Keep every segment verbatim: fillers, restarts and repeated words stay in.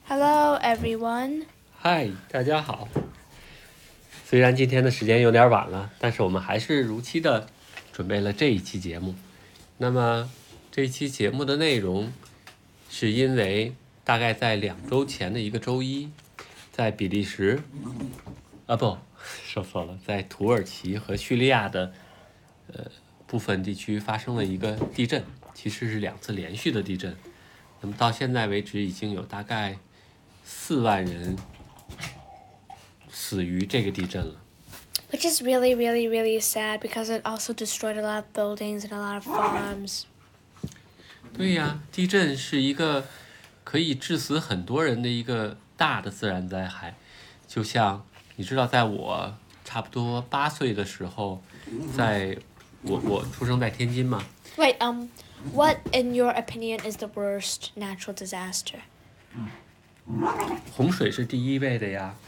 Hello, everyone. 嗨，大家好。虽然今天的时间有点晚了，但是我们还是如期的准备了这一期节目。那么这一期节目的内容，是因为大概在两周前的一个周一，在比利时，啊不，说错了，在土耳其和叙利亚的呃部分地区发生了一个地震，其实是两次连续的地震。那么到现在为止，已经有大概四万人死于这个地震了。 Which is really, really, really sad because it also destroyed a lot of buildings and a lot of farms. 对呀，地震是一个可以致死很多人的一个大的自然灾害。就像你知道，在我差不多八岁的时候，在我我出生在天津嘛。 Wait, um, what in your opinion is the worst natural disaster? 洪水是第一位的呀。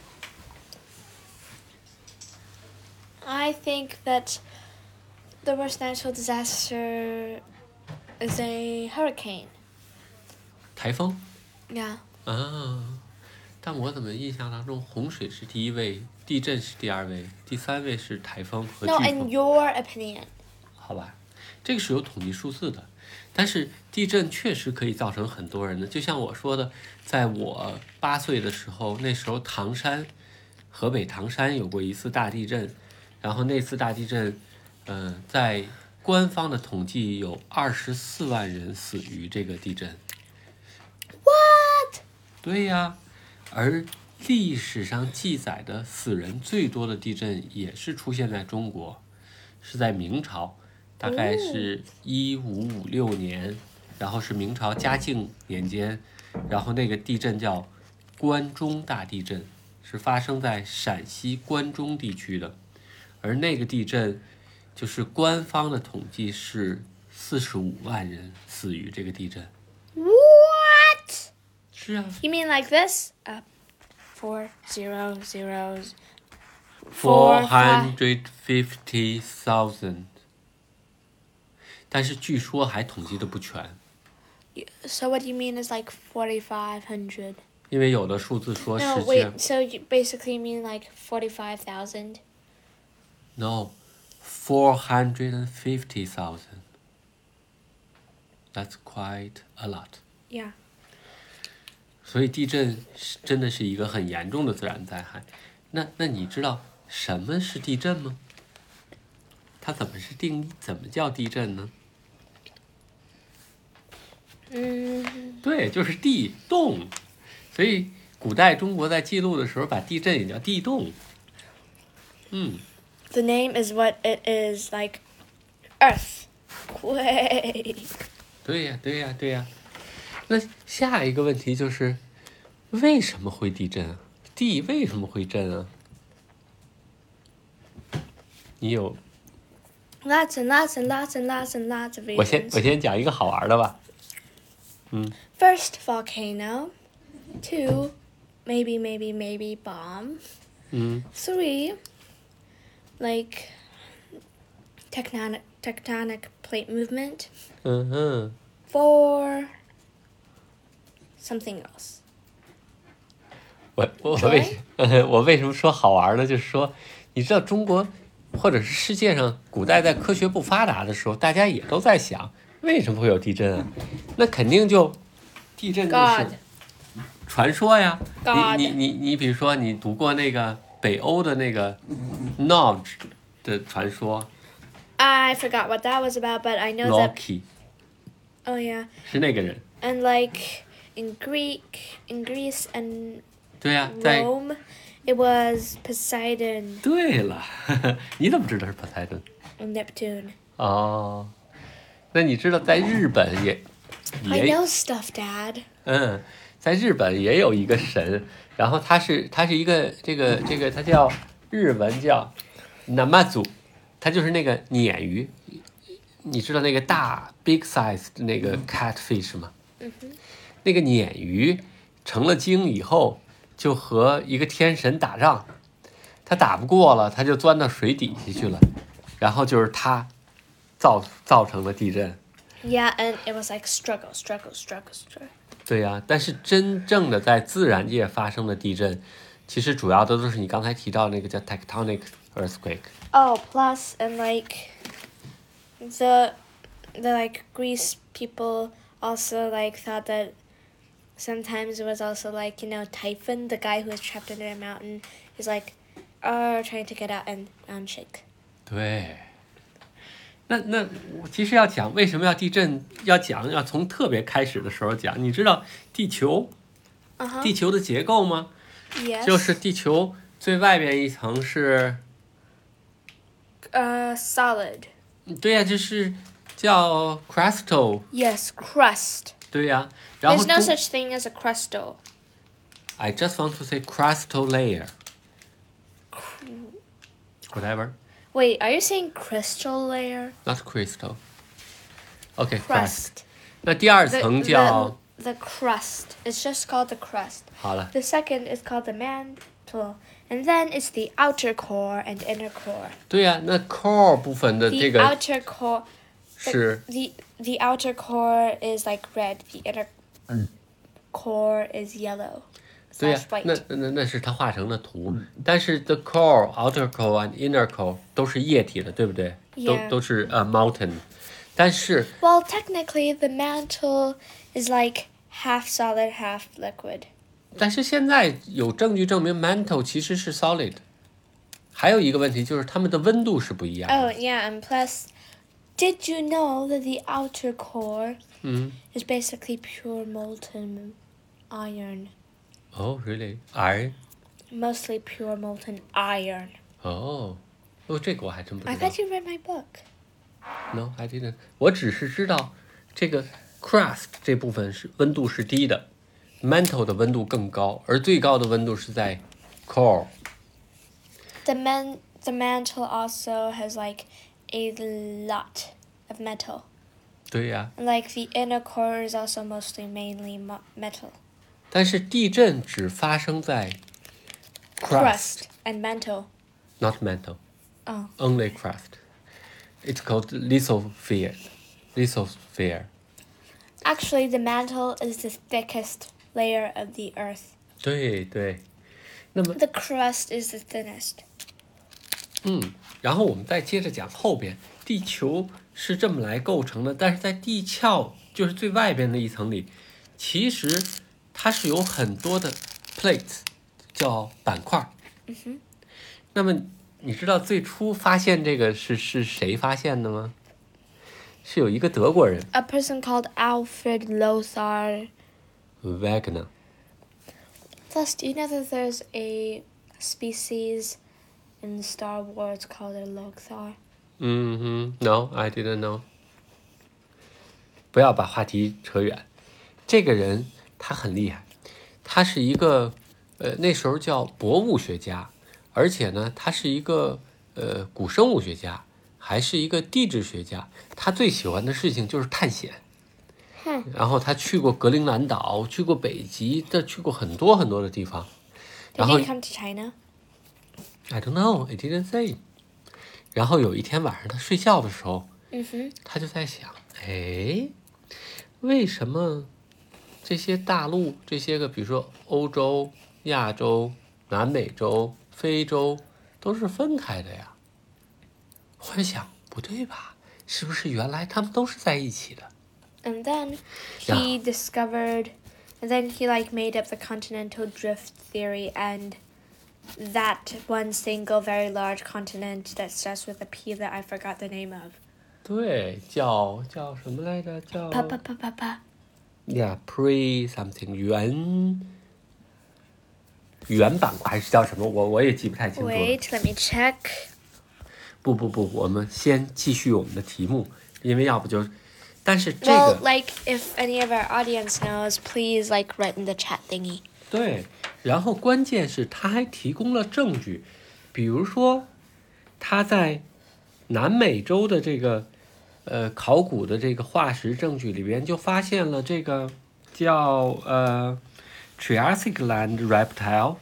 I think that the worst natural disaster is a hurricane. 台风 Yeah. 啊，但我怎么印象当中洪水是第一位，地震是第二位，第三位是台风和飓 No, 风。 in your opinion. 好吧，这个是有统计数字的，但是地震确实可以造成很多人的。就像我说的，在我八岁的时候，那时候唐山，河北唐山有过一次大地震，然后那次大地震，嗯、呃，在官方的统计有二十四万人死于这个地震。 What? 对呀，而历史上记载的死人最多的地震也是出现在中国，是在明朝。大概是一五五六年，然后是明朝嘉靖年间，然后那个地震叫关中大地震，是发生在陕西关中地区的，而那个地震就是官方的统计是四十五万人死于这个地震。 What? 是啊 You mean like this? Uh, four zero zeros. four hundred fifty thousand， 但是据说还统计的不全。 So what you mean is like forty-five hundred? 因为有的数字说 No, 世界 wait, so you basically mean like forty-five thousand? No, four hundred fifty thousand. That's quite a lot. Yeah. 所以地震是真的是一个很严重的自然灾害。那那你知道什么是地震吗？它怎么是定义？怎么叫地震呢？ 嗯， 对，就是地动。所以古代中国在记录的时候，把地震也叫地动。嗯。 The name is what it is, like earthquake. 对呀，对呀，对呀。那下一个问题就是，为什么会地震啊？地为什么会震啊？你有？ Lots and lots and lots and lots and lots of 我先 reasons. 我先讲一个好玩的吧。嗯 First, volcano. Two, maybe, maybe, maybe bomb. 嗯 Three, like tectonic tectonic plate movement. 嗯哼， Four, something else. 我我为我为什么说好玩呢？就是说，你知道中国或者是世界上古代在科学不发达的时候，大家也都在想，为什么会有地震啊？那肯定就地震就是 God. 传说呀。 God. 你你你你比如说你读过那个北欧的那个 Nod 的传说 I forgot what that was about, but I know that. ，Loki Oh yeah, 是那个人。 and like in Greek, in Greece and 对呀、在 Rome, it was Poseidon 对了，你怎么知道是 Poseidon？ and Neptune. 哦，那你知道在日本也 I 也 know stuff, Dad. 嗯，在日本也有一个神，然后他是他是一个这个这个他叫日文叫 Namazu， 他就是那个鲶鱼，你知道那个大 big size 的那个 catfish 吗？ 嗯哼。 那个鲶鱼成了精以后，就和一个天神打仗，他打不过了，他就钻到水底下去了，然后就是他造造成了地震。 Yeah, and it was like struggle, struggle, struggle, struggle. 对呀、啊，但是真正的在自然界发生的地震，其实主要的都是你刚才提到那个叫 tectonic earthquake。 Oh, plus and like the the like Greece people also like thought that sometimes it was also like, you know, Typhon, the guy who was trapped under a mountain, is like uh trying to get out and um shake. 对，那那我其实要讲为什么要地震，要讲要从特别开始的时候讲。你知道地球、 Uh-huh. 地球的结构吗？ Yes. 就是地球最外边一层是， uh solid. 对呀、啊，就是叫 crustal。 Yes, crust. 对呀、啊，然后 There's no 中 such thing as a crustal. I just want to say crustal layer. Whatever. Wait, are you saying crystal layer? Not crystal. OK, crust. Crust. 那第二 The, 层叫 the, the crust. It's just called the crust. 好了， The second is called the mantle. And then it's the outer core and inner core. 对呀、啊，那 core 部分的 The 这个 outer core 是 the the outer core is like red. The inner core is yellow. 对呀、 Slash white. 那那那是它画成的图，但是 the core, outer core and inner core 都是液体的，对不对？ Yeah. 都都是呃 molten， 但是 Well, technically, the mantle is like half solid, half liquid. 但是现在有证据证明 mantle 其实是 solid。还有一个问题就是它们的温度是不一样的。 Oh, yeah, and plus, did you know that the outer core 嗯 is basically pure molten iron? ，Oh really? Iron? Mostly pure molten iron. 哦，哦，这个我还真不 I 知道。 thought you read my book. No, I didn't. 我只是知道这个 crust 这部分是温度是低的 ，mantle 的温度更高，而最高的温度是在 core。 The man, the mantle also has like a lot of metal. 对呀、 And like the inner core is also mostly mainly mo- metal. 但是地震只发生在 crust, Crust and mantle. not mantle, Oh. only crust. It's called lithosphere. Lithosphere. Actually, the mantle is the thickest layer of the earth. 对对，那么 The crust is the thinnest. 嗯，然后我们再接着讲后边，地球是这么来构成的，但是在地壳就是最外边的一层里，其实它是有很多的 plates， 叫板块。 嗯哼。 那么你知道最初发现这个是是谁发现的吗？是有一个德国人 A person called Alfred Lothar. Wegener。 Plus, do you know that there's a species in Star Wars called a Lothar? 嗯哼 ，No, I didn't know。不要把话题扯远。这个人他很厉害，他是一个呃那时候叫博物学家，而且呢，他是一个呃古生物学家，还是一个地质学家。他最喜欢的事情就是探险。 Hmm. 然后他去过格陵兰岛，去过北极，他去过很多很多的地方。 Did 然后 he come to China? I don't know, I didn't say。然后有一天晚上他睡觉的时候， Mm-hmm. 他就在想，哎，为什么这些大陆这些个，比如说欧洲、亚洲、南美洲、非洲，都是分开的呀？我在想，不对吧？是不是原来他们都是在一起的？ And then Yeah. he discovered, and then he like made up the continental drift theory and that one single very large continent that starts with a P that I forgot the name of. 对，叫叫什么来着？叫 Pa pa pa pa pa. Yeah, pre something 原原板块还是叫什么？我我也记不太清楚了。 Wait, let me check. 不不不，我们先继续我们的题目，因为要不就，但是这 Well, 个 like if any of our audience knows, please like write in the chat thingy. 对，然后关键是他还提供了证据，比如说他在南美洲的这个呃考古的这个化石证据里边就发现了这个叫呃 Triassic land reptile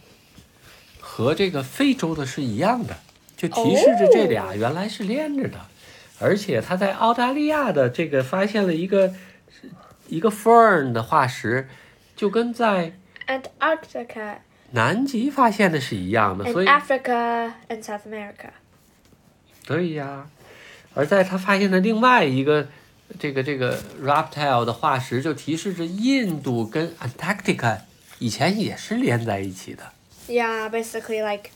和这个非洲的是一样的，就提示着这俩原来是连着的。 而且他在澳大利亚的这个发现了一个一个 fern 的化石，就跟在 Antarctica 南极发现的是一样的， and 所以 Africa and South America. 对呀。而在他发现的另外一个这个这个 reptile 的化石，就提示着印度跟 Antarctica 以前也是连在一起的。 Yeah, basically like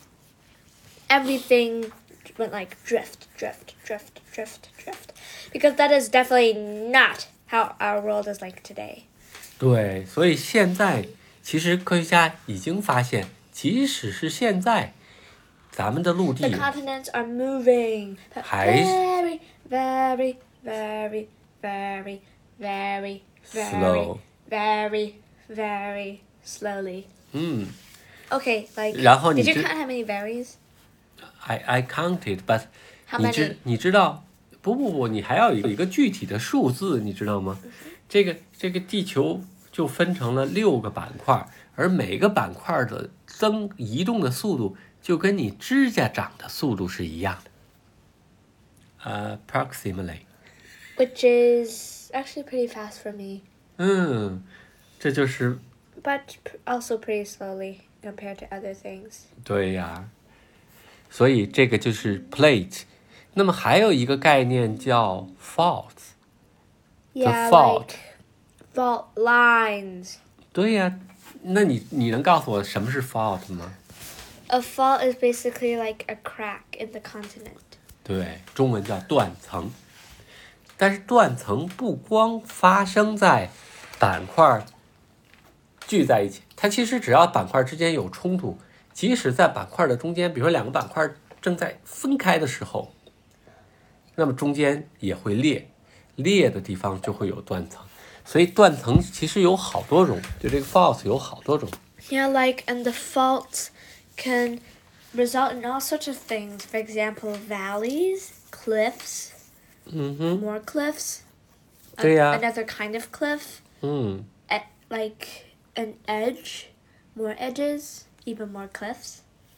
everything went like drift, drift, drift, drift, drift. Because that is definitely not how our world is like today. 对，所以现在其实科学家已经发现，即使是现在，咱们的陆 The 地 continents are moving 还 very, very, very, very, very, very, Slow. very, very slowly. 嗯 Okay, like 然后你 did you 知 count how many varies? ，I I counted, but How 你知 many? 你知道？不不不，你还要有一个具体的数字，你知道吗？这个这个地球就分成了六个板块，而每个板块的增移动的速度就跟你指甲长的速度是一样的。呃、uh, ，approximately。 Which is actually pretty fast for me, 嗯，这就是 but p- also pretty slowly compared to other things. 对呀。所以这个就是 plate。那么还有一个概念叫 faults。 Yeah, fault. like fault lines. 对呀，那你你能告诉我什么是 fault 吗？ A fault is basically like a crack in the continent. 对，中文叫断层。但是断层不光发生在板块聚在一起，它其实只要板块之间有冲突，即使在板块的中间，比如说两个板块正在分开的时候，那么中间也会裂，裂的地方就会有断层。所以断层其实有好多种，就这个 fault 有好多种。 Yeah, like, and the faults can result in all sorts of things. For example, valleys, cliffs, 嗯哼， more cliffs, a- 对呀。 another kind of cliff, 嗯， e- like an edge, more edges, even more cliffs.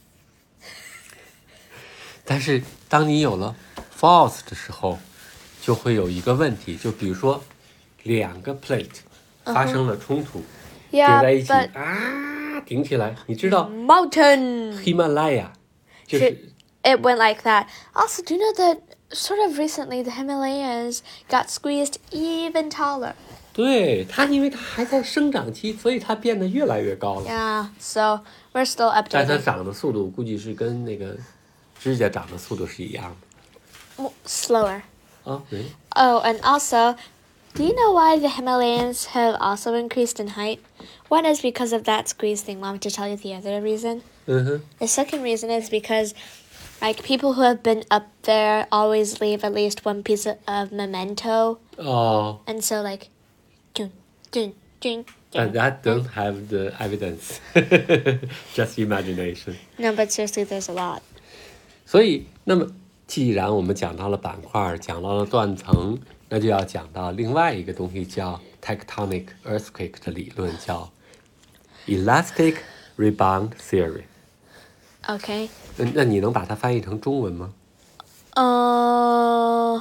但是当你有了 fault 的时候，就会有一个问题，就比如说两个 plate 发生了冲突，顶 Yeah, 在一起 but 啊，顶起来。你知道 mountain. 喜马拉雅就是 It went like that. Also, do you know that sort of recently the Himalayas got squeezed even taller? 对它，因为它还在生长期，所以它变得越来越高了。 Yeah, so we're still 但它 updating. 长的速度估计是跟那个指甲长的速度是一样的 Mo- Slower. 啊。对， Oh, and also, do you know why the Himalayas have also increased in height? One is because of that squeeze thing. Want me to tell you the other reason? 嗯哼， The second reason is because, like, people who have been up there always leave at least one piece of, of memento. 哦 And so, like, dun, dun, dun, but dun. that don't have the evidence, just imagination. No, but seriously, there's a lot. 所以，那么既然我们讲到了板块，讲到了断层，那就要讲到另外一个东西，叫 tectonic earthquake 的理论，叫 elastic rebound theory。 Okay. 那那你能把它翻译成中文吗？ Uh,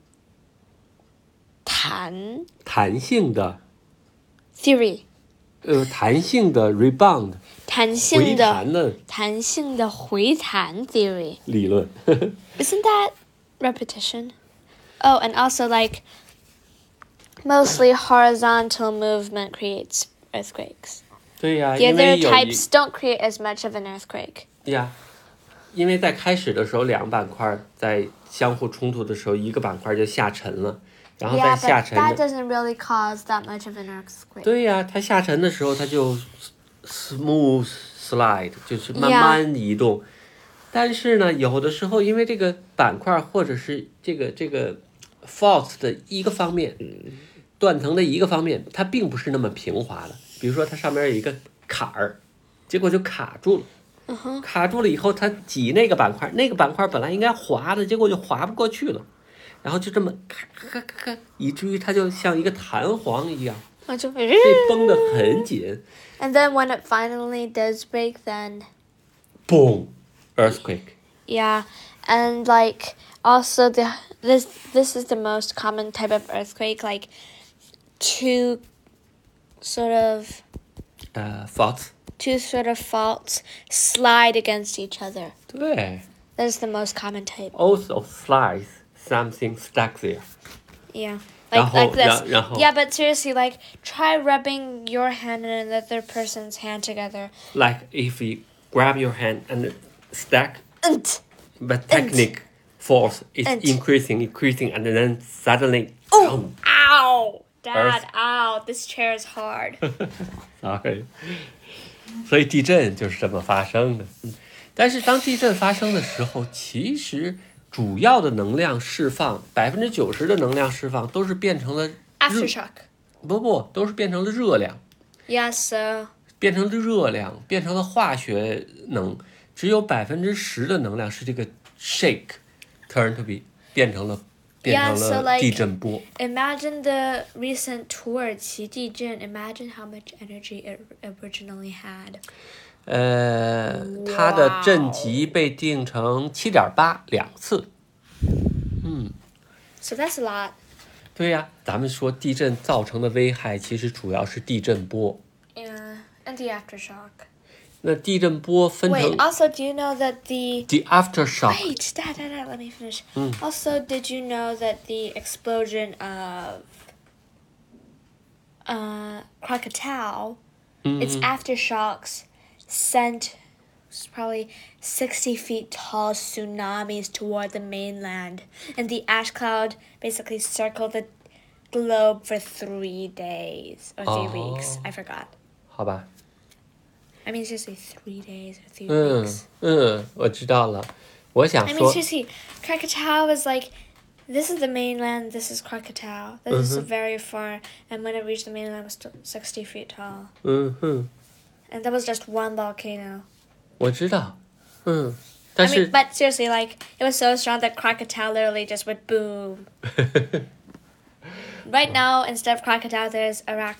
弹弹性的， theory. 呃，弹性的 rebound 弹回性的弹的弹性的回弹 theory. 理论。 Isn't that repetition? Oh, and also like mostly horizontal movement creates earthquakes. 对呀， The 因为 other 有一 types don't create as much of an earthquake. 呀，因为在开始的时候，两个板块在相互冲突的时候，一个板块就下沉了，然后在 Yeah, 下 but 沉 that 的， doesn't really cause that much of an earthquake. 对呀，它下沉的时候，它就 smooth slide，就是慢慢移动。但是呢，有的时候因为这个板块或者是这个这个 fault 的一个方面，断层的一个方面，它并不是那么平滑的。比如说它上面有一个坎儿，结果就卡住了。 Uh-huh. 卡住了以后，它挤那个板块，那个板块本来应该滑的，结果就滑不过去了，然后就这么咔咔咔咔，以至于它就像一个弹簧一样，被绷得很紧。 And then when it finally does break, then Boom, earthquake. yeah, and like also the this this is the most common type of earthquake, like two sort of 呃 faults two sort of faults slide against each other. 对 That's the most common type. also slides something stuck there Yeah. 然 Like 后 like this. 然然后 Yeah, but seriously, like try rubbing your hand and another person's hand together. like if we grab your hand and stack And but technique force is And- increasing increasing and then suddenly oh, ow, Dad, Earth. ow, this chair is hard. sorry 所以地震就是这么发生的但是当地震发生的时候其实主要的能量释放百分之九十的能量释放都是变成了 Aftershock. 不不都是变成了热量 Yeah, so 变成了热量变成了化学能只有百分之十的能量是这个 shake turn to be 变成了变 Yeah, 成 so 了 like- 地震波 imagine the recent 土耳其地震. Imagine how much energy it originally had. 呃，它的震级被定成七点八两次。嗯， So that's a lot. 对呀，咱们说地震造成的危害其实主要是地震波。 Yeah, and the aftershock. 那地震波分 Wait, 成 also, do you know that the... the aftershock， Wait, Dad, Dad, Dad, let me finish. Also, did you know that the explosion of uh, Krakatoa, its aftershocks sent probably sixty feet tall tsunamis toward the mainland, and the ash cloud basically circled the globe for three days or three Oh. weeks. I forgot. 好吧？ I mean, seriously, three days or three 嗯 weeks. 嗯，我知道了。我想 I mean, 说， seriously, Krakatoa was like, this is the mainland, this is Krakatoa. This is very far, and when it reached the mainland, it was still sixty feet tall. 嗯哼， And that was just one volcano. 我知道，嗯， I 但 mean, 是 but seriously, like, it was so strong that Krakatoa literally just went boom. Right now, instead of Krakatoa, there's Iraq.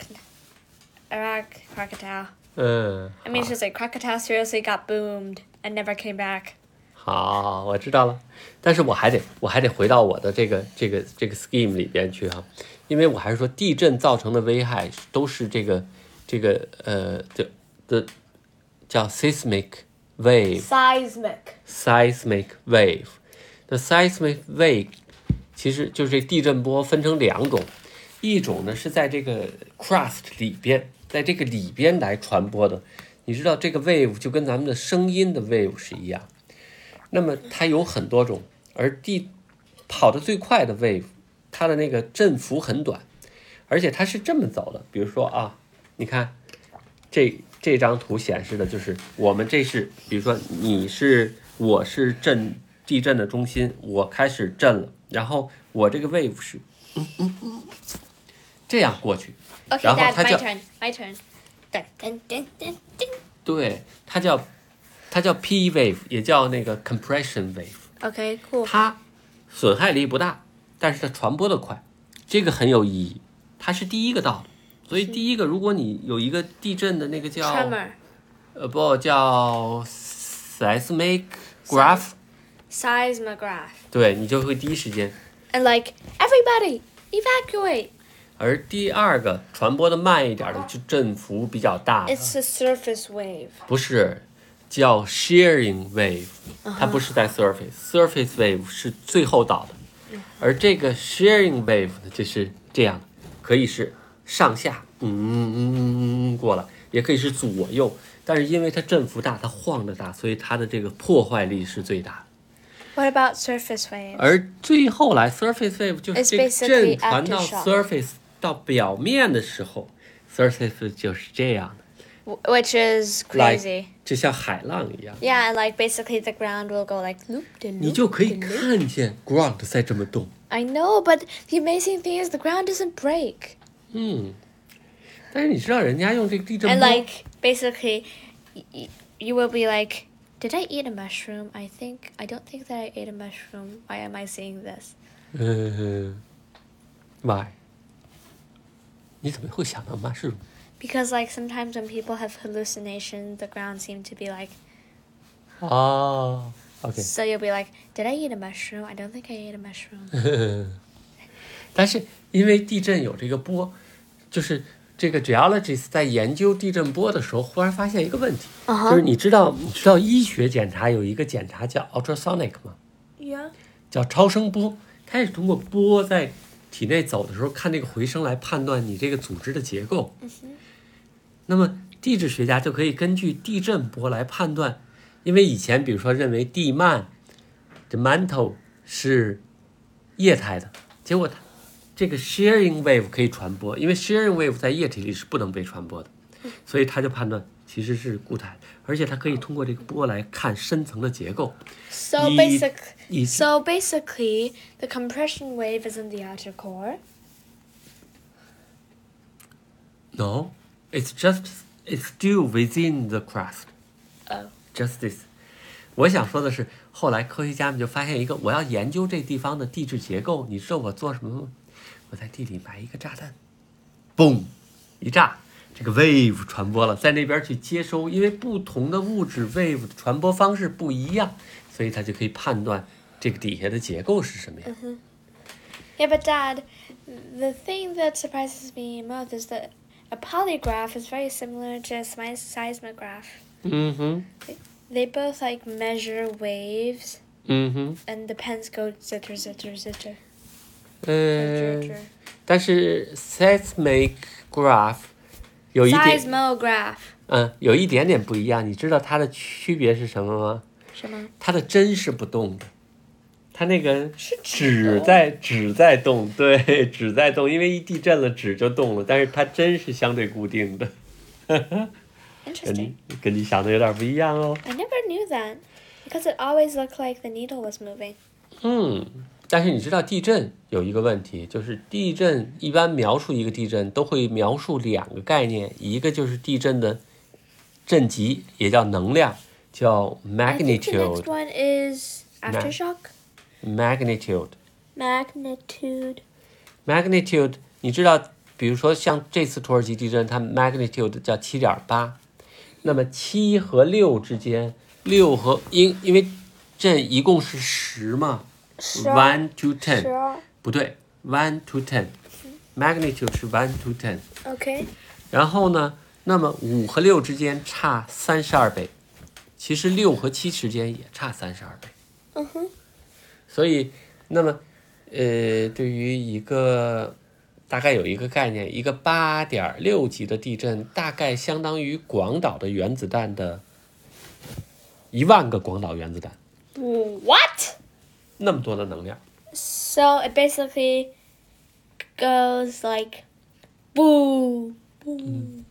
Iraq Krakatoa. 嗯， I mean, seriously, Krakatoa seriously got boomed and never came back. 好，我知道了，但是我还得我还得回到我的这个这个这个 scheme 里边去哈，因为我还是说地震造成的危害都是这个这个呃的的叫 seismic wave Seismic. seismic wave，那 seismic wave 其实就是这地震波分成两种，一种呢是在这个 crust 里边，在这个里边来传播的，你知道这个 wave 就跟咱们的声音的 wave 是一样。那么它有很多种，而地跑得最快的 wave， 它的那个振幅很短，而且它是这么走的。比如说啊，你看这这张图显示的就是我们这是，比如说你是我是震地震的中心，我开始震了，然后我这个 wave 是嗯嗯嗯这样过去， Okay, 然后 Dad, 它 my 叫 turn. My turn. Dun, dun, dun, dun, dun. 对，它叫它叫 P wave， 也叫那个 compression wave。 Okay, cool. 它损害力不大，但是它传播的快，这个很有意义。它是第一个到的，所以第一个，如果你有一个地震的那个叫 Tremor. 呃不叫 seismic graph， Seismograph. 对你就会第一时间。 And like, everybody, evacuate. 而第二个传播的慢一点的，就振幅比较大的， It's a surface wave. 不是叫 shearing wave， 它不是在 surface，surface wave 是最后到的，而这个 shearing wave 呢，就是这样的，可以是上下，嗯嗯嗯嗯过了，也可以是左右，但是因为它振幅大，它晃得大，所以它的这个破坏力是最大的。 What about surface waves? 而最后来 surface wave 就是 It's 这个 basically 震传到 aftershock. surface 到表面的时候 ，surface wave 就是这样的。 W- Which is crazy. Like, 就像海浪一样， Yeah, and like basically the ground will go like loop de 你 loop. 就可以 de loop. 看见 ground 在这么动。 I know, but the amazing thing is the ground doesn't break. 嗯，但是你知道人家用这个地震 And 波， like basically, y- y- you will be like, did I eat a mushroom? I think I don't think that I ate a mushroom. Why am I seeing this? 嗯 ，why？ 你怎么会想到 mushroom？ Because like sometimes when people have hallucination, the ground seem to be like, 哦， OK So you'll be like, did I eat a mushroom? I don't think I ate a mushroom. 但是因为地震有这个波，就是这个 geologist 在研究地震波的时候，忽然发现一个问题， Uh-huh. 就是你知道你知道医学检查有一个检查叫 ultrasonic 吗？ Yeah. 叫超声波，它是通过波在体内走的时候，看这个回声来判断你这个组织的结构。 Mm-hmm. 那么地质学家就可以根据地震波来判断，因为以前比如说认为地幔这 mantle 是液态的，结果它这个 shearing wave 可以传播，因为 shearing wave 在液体里是不能被传播的，所以他就判断其实是固态，而且它可以通过这个波来看深层的结构。 So 以 basic. 以 So basically, the compression wave is in the outer core. No, it's just it's still within the crust. Oh. Just this. 我想说的是，后来科学家们就发现一个，我要研究这地方的地质结构，你知道我做什么吗？我在地里埋一个炸弹，嘣，一炸，这个 wave 传播了，在那边去接收，因为不同的物质 wave 的传播方式不一样，所以它就可以判断这个底下的结构是什么样。 Mm-hmm. Yeah, but Dad, the thing that surprises me most is that a polygraph is very similar to a seis- seismograph. 嗯哼， They both like measure waves, 嗯哼， and the pens go zitter, zitter, zitter. 呃 zitter.， 但是 seismograph 有一点， Seismograph. 嗯，有一点点不一样。你知道它的区别是什么吗？ 什么？ 它的针是不动的，它那个是纸在纸在动，对，纸在动，因为一地震了纸就动了，但是它针是相对固定的。跟 Interesting. 你跟你想的有点不一样哦。 I never knew that because it always looked like the needle was moving. 嗯，但是你知道地震有一个问题，就是地震一般描述一个地震都会描述两个概念，一个就是地震的震级，也叫能量，叫 I think the next magnitude one is aftershock. magnitude Magnitude. magnitude。你知道，比如说像这次土耳其地震，它 magnitude 叫七点八，那么七和六之间，六和因因为震一共是十嘛。 十 one to 十 ten 二。 不对 one to ten magnitude 是 one to ten， Okay. 然后呢，那么五和六之间差三十二倍，其实六和七之间也差三十二倍。 嗯哼。 所以，那么，呃，对于一个大概有一个概念，一个八点六级的地震，大概相当于广岛的原子弹的一万个广岛原子弹， What? 那么多的能量。 So it basically goes like boom, boom,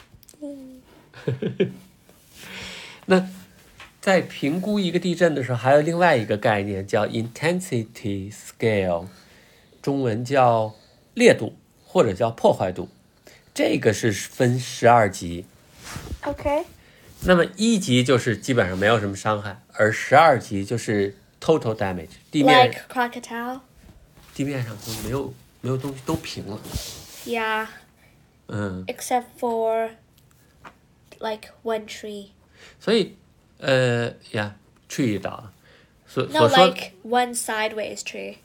boom. 那在评估一个地震的时候，还有另外一个概念叫 intensity scale， 中文叫烈度或者叫破坏度，这个是分十二级。 Okay. 那么一级就是基本上没有什么伤害，而十二级就是 total damage， 地面 Like crocodile. 地面上就没有没有东西都平了。 Yeah. 嗯， Except for like one tree. 所以呃呀 tree 倒了，所 No, 所说 like one sideways tree.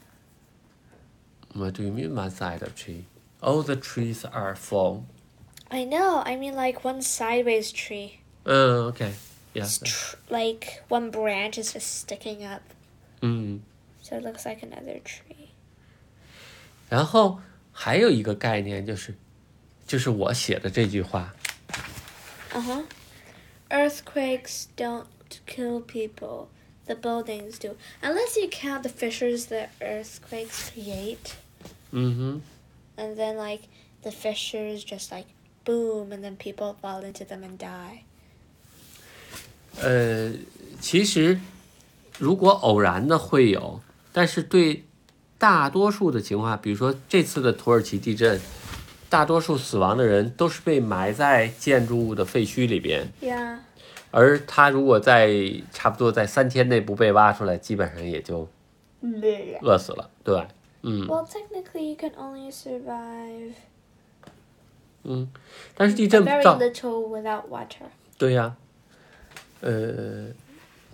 What do you mean one side of tree? All the trees are fall. I know. I mean like one sideways tree. 嗯 OK yeah It's tr- like one branch is just sticking up. 嗯， So it looks like another tree. 然后还有一个概念就是就是我写的这句话， Uh-huh. Earthquakes don't kill people. The buildings do. Unless you count the fissures that earthquakes create. 嗯哼， And then, like, the fissures just, like, boom, and then people fall into them and die. 呃，其实如果偶然的会有，但是对大多数的情况，比如说这次的土耳其地震，大多数死亡的人都是被埋在建筑物的废墟里边， Yeah. 而他如果在差不多在三天内不被挖出来，基本上也就饿死了，对吧？嗯 Well, technically, you can only survive 嗯，但是地震 very 造 little without water. 对呀、呃，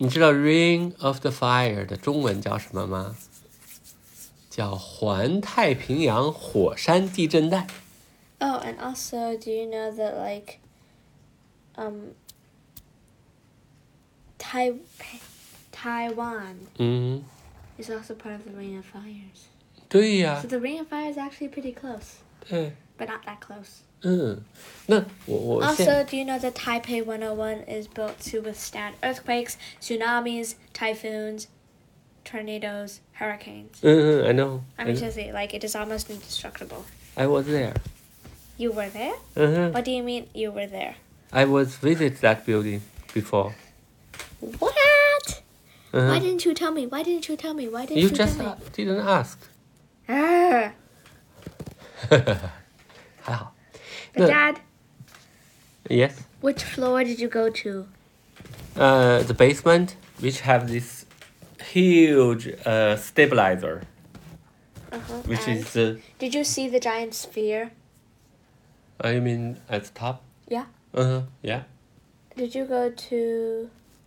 你知道 Ring of the Fire 的中文叫什么吗？叫环太平洋火山地震带。 Oh, and also, do you know that like, um, Tai Taiwan 嗯 is also part of the Ring of Fires. 对呀 So the Ring of Fire is actually pretty close, 对 but not that close. 嗯，那我我 Also, 现 do you know that Taipei one oh one is built to withstand earthquakes, tsunamis, typhoons, tornadoes, hurricanes? 嗯嗯 I know I I mean, know. seriously, like it is almost indestructible. I was there. You were there? 嗯哼 What do you mean you were there? I was visit that building before. What? 嗯 Why 哼 didn't you tell me? Why didn't you tell me? Why didn't You you just tell me? didn't ask. Ah, 还好。 but No. Dad, Yes. which floor did you go to? Uh, the basement, which have this huge uh, stabilizer, Uh-huh. which and is the. Did you see the giant sphere? I mean at the top. Yeah. Uh huh. Yeah. Did you go to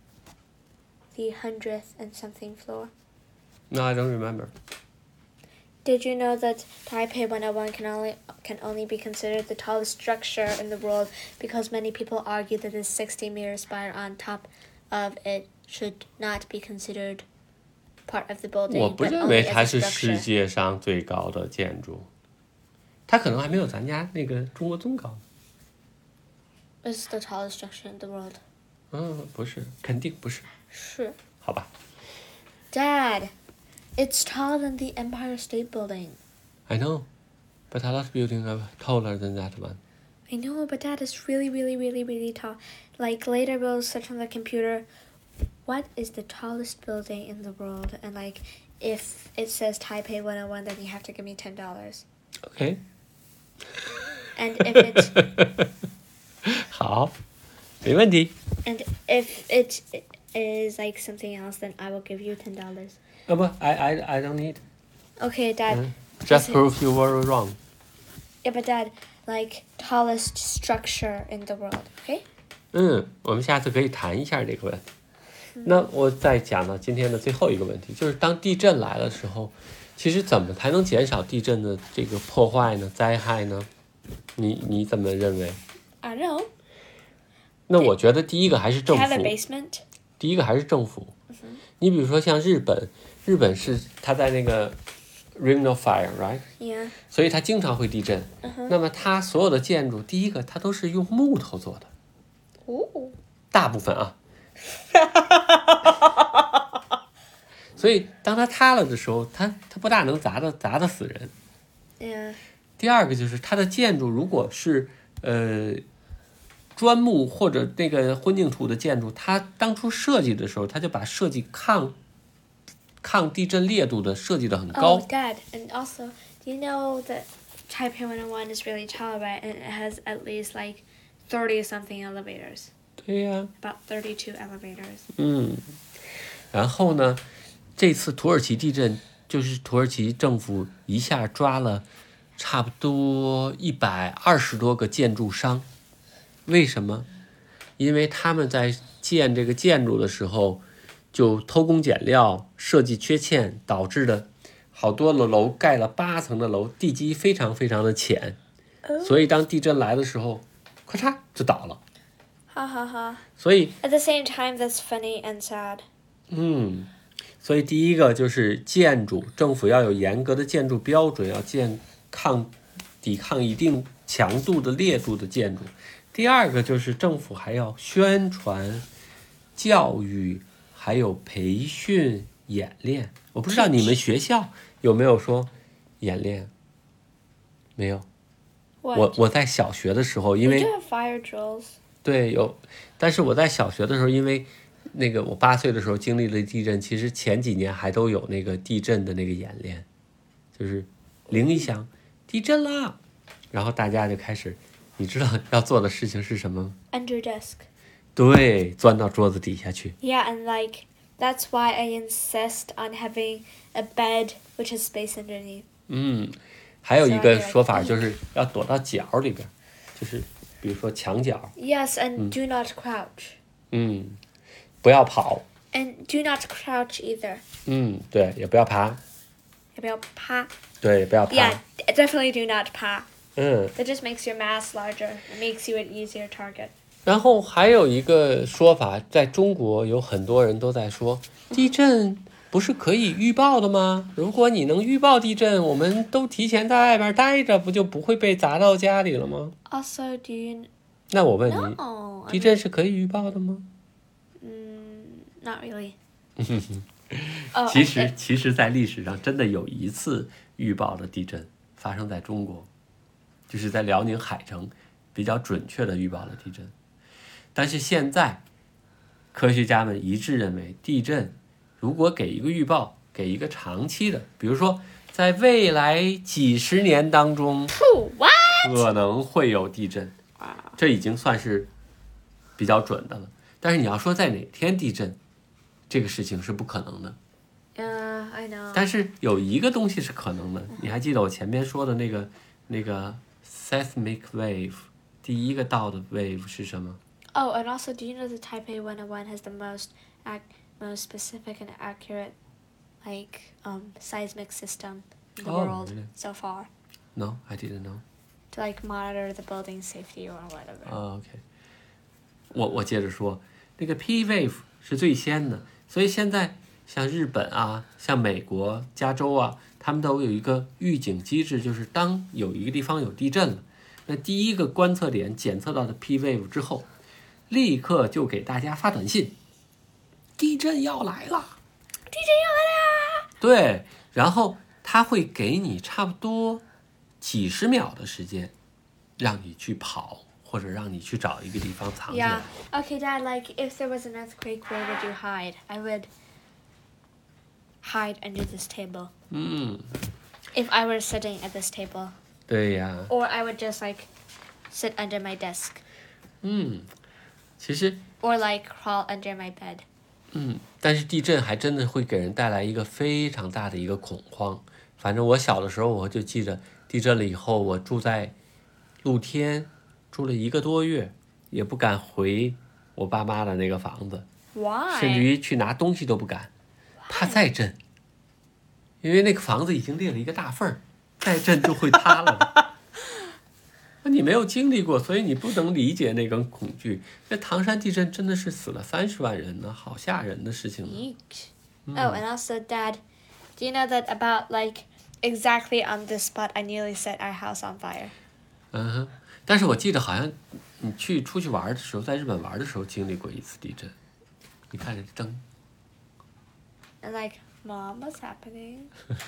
the hundredth and something floor? No, I don't remember. Did you know that Taipei one oh one can only can only be considered the tallest structure in the world because many people argue that this sixty meter spire on top of it should not be considered part of the 我 building, 不 but 认 only 为 as 它 a 是世 structure. 界上最高的建筑，它可能还没有咱家那个中国宗高。 It's the tallest structure in the world. 嗯，不是，肯定不是。 是。 好吧。 Dad, it's taller than the Empire State Building. I know, but a lot of buildings are taller than that one. I know, but Dad, it's really, really, really, really tall. Like, later we'll search on the computer, what is the tallest building in the world? And, like, if it says Taipei one oh one, then you have to give me ten dollars. Okay. And if it's... 好，没问题。 and if it is, like, something else, then I will give you ten dollars. 啊不，I I I don't need. Okay, Dad. 嗯 Just Listen. prove you were wrong. Yeah, but Dad, like, tallest structure in the world, okay? 嗯，我们下次可以谈一下这个问题。那我再讲到今天的最后一个问题，就是当地震来的时候，其实怎么才能减少地震的这个破坏呢？灾害呢？你你怎么认为？ I don't know. 那我觉得第一个还是政 Have a 府， basement? 第一个还是政府。你比如说像日本，日本是它在那个 Ring of Fire，right？ Yeah. 所以它经常会地震。那么它所有的建筑，第一个它都是用木头做的， Ooh. 大部分啊。所以当它塌了的时候，它它不大能砸的砸得死人。 Yeah. 第二个就是它的建筑如果是呃砖木或者那个混凝土的建筑，它当初设计的时候，它就把设计抗抗地震烈度的设计得很高。 Oh, Dad, and also, do you know that Taipei one oh one is really tall, right? And it has at least like thirty-something elevators. 对呀、 About thirty-two elevators. 嗯，然后呢，这次土耳其地震就是土耳其政府一下抓了差不多一百二十多个建筑商，为什么？因为他们在建这个建筑的时候就偷工减料、设计缺陷，导致的好多的楼盖了八层的楼，地基非常非常的浅，所以当地震来的时候，咔嚓就倒了。 Ha ha ha. 所以 At the same time, that's funny and sad. 嗯，所以第一个就是建筑，政府要有严格的建筑标准，要建抗抵抗一定强度的烈度的建筑。第二个就是政府还要宣传、教育，还有培训、演练。我不知道你们学校有没有说演练？没有。 What? 我我在小学的时候，因 We 为 do have fire drills. 对，有，但是我在小学的时候，因为那个我八岁的时候经历了地震，其实前几年还都有那个地震的那个演练，就是铃一响，地震啦，然后大家就开始，你知道要做的事情是什么吗？ Under desk. 对，钻到桌子底下去。 Yeah, and like, that's why I insist on having a bed which has space underneath. 嗯，还有一个说法就是要躲到角里边，就是比如说墙角， Yes, and do not crouch. 嗯，不要跑。 And do not crouch either. 嗯，对，也不要爬。 也不要趴。 对，也不要爬。 Yeah, definitely do not 趴。 嗯。 That just makes your mass larger. It makes you an easier target. 然后还有一个说法，在中国有很多人都在说，地震不是可以预报的吗？如果你能预报地震，我们都提前在外边待着，不就不会被砸到家里了吗？ Also, do you... 那我问你， No, 地震是可以预报的吗？ Mm, not really. 其实，其实，在历史上真的有一次预报的地震发生在中国，就是在辽宁海城，比较准确的预报了地震。但是现在，科学家们一致认为，地震如果给一个预报，给一个长期的，比如说在未来几十年当中，可能会有地震，这已经算是比较准的了。但是你要说在哪天地震，这个事情是不可能的。 Uh, I know. 但是有一个东西是可能的，你还记得我前面说的那个那个 seismic wave 第一个到的 wave 是什么？ Oh, and also, do you know that Taipei one oh one has the most ac most specific and accurate, like, um, seismic system in the Oh, world really? so far No, I didn't know. to like monitor the building safety or whatever. 哦 OK， 我我接着说，那个 P wave 是最先的，所以现在像日本啊，像美国加州啊，他们都有一个预警机制，就是当有一个地方有地震了，那第一个观测点检测到的 P wave 之后，立刻就给大家发短信，地震要来了， 地震要来啦！ 对，然后他会给你差不多几十秒的时间，让你去跑，或者让你去找一个地方藏起来。 Yeah. Okay, Dad, like, if there was an earthquake, where would you hide? I would hide under this table. 嗯， If I were sitting at this table. 对呀。 Or I would just, like, sit under my desk. 嗯，其实， Or, like, crawl under my bed. 嗯，但是地震还真的会给人带来一个非常大的一个恐慌。反正我小的时候，我就记着地震了以后，我住在露天，住了一个多月，也不敢回我爸妈的那个房子， Why? 甚至于去拿东西都不敢，怕再震，因为那个房子已经裂了一个大缝儿，再震就会塌了。你没有经历过，所以你不能理解那种恐惧。那唐山地震真的是死了三十万人呢，好吓人的事情呢。 Eek. Oh, and also, Dad, do you know that about, like, exactly on this spot, I nearly set our house on fire? 嗯哼，但是我记得好像你去出去玩的时候，在日本玩的时候经历过一次地震。你看这灯。 And, like, Mom, what's happening?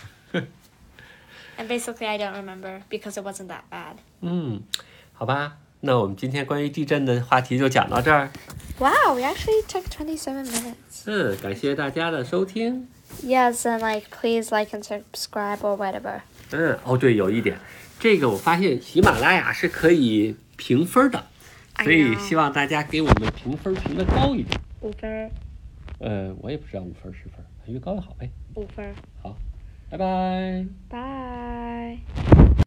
And basically, I don't remember because it wasn't that bad. 嗯，好吧，那我们今天关于地震的话题就讲到这儿。 Wow, we actually took twenty-seven minutes. 嗯，感谢大家的收听。 Yes, and, like, please like and subscribe or whatever. 嗯，哦对，有一点，这个我发现喜马拉雅是可以评分的，所以希望大家给我们评分评的高一点。 五分。 呃，我也不知道五分十分，越高越好呗。 五分。 好，拜拜。 Bye.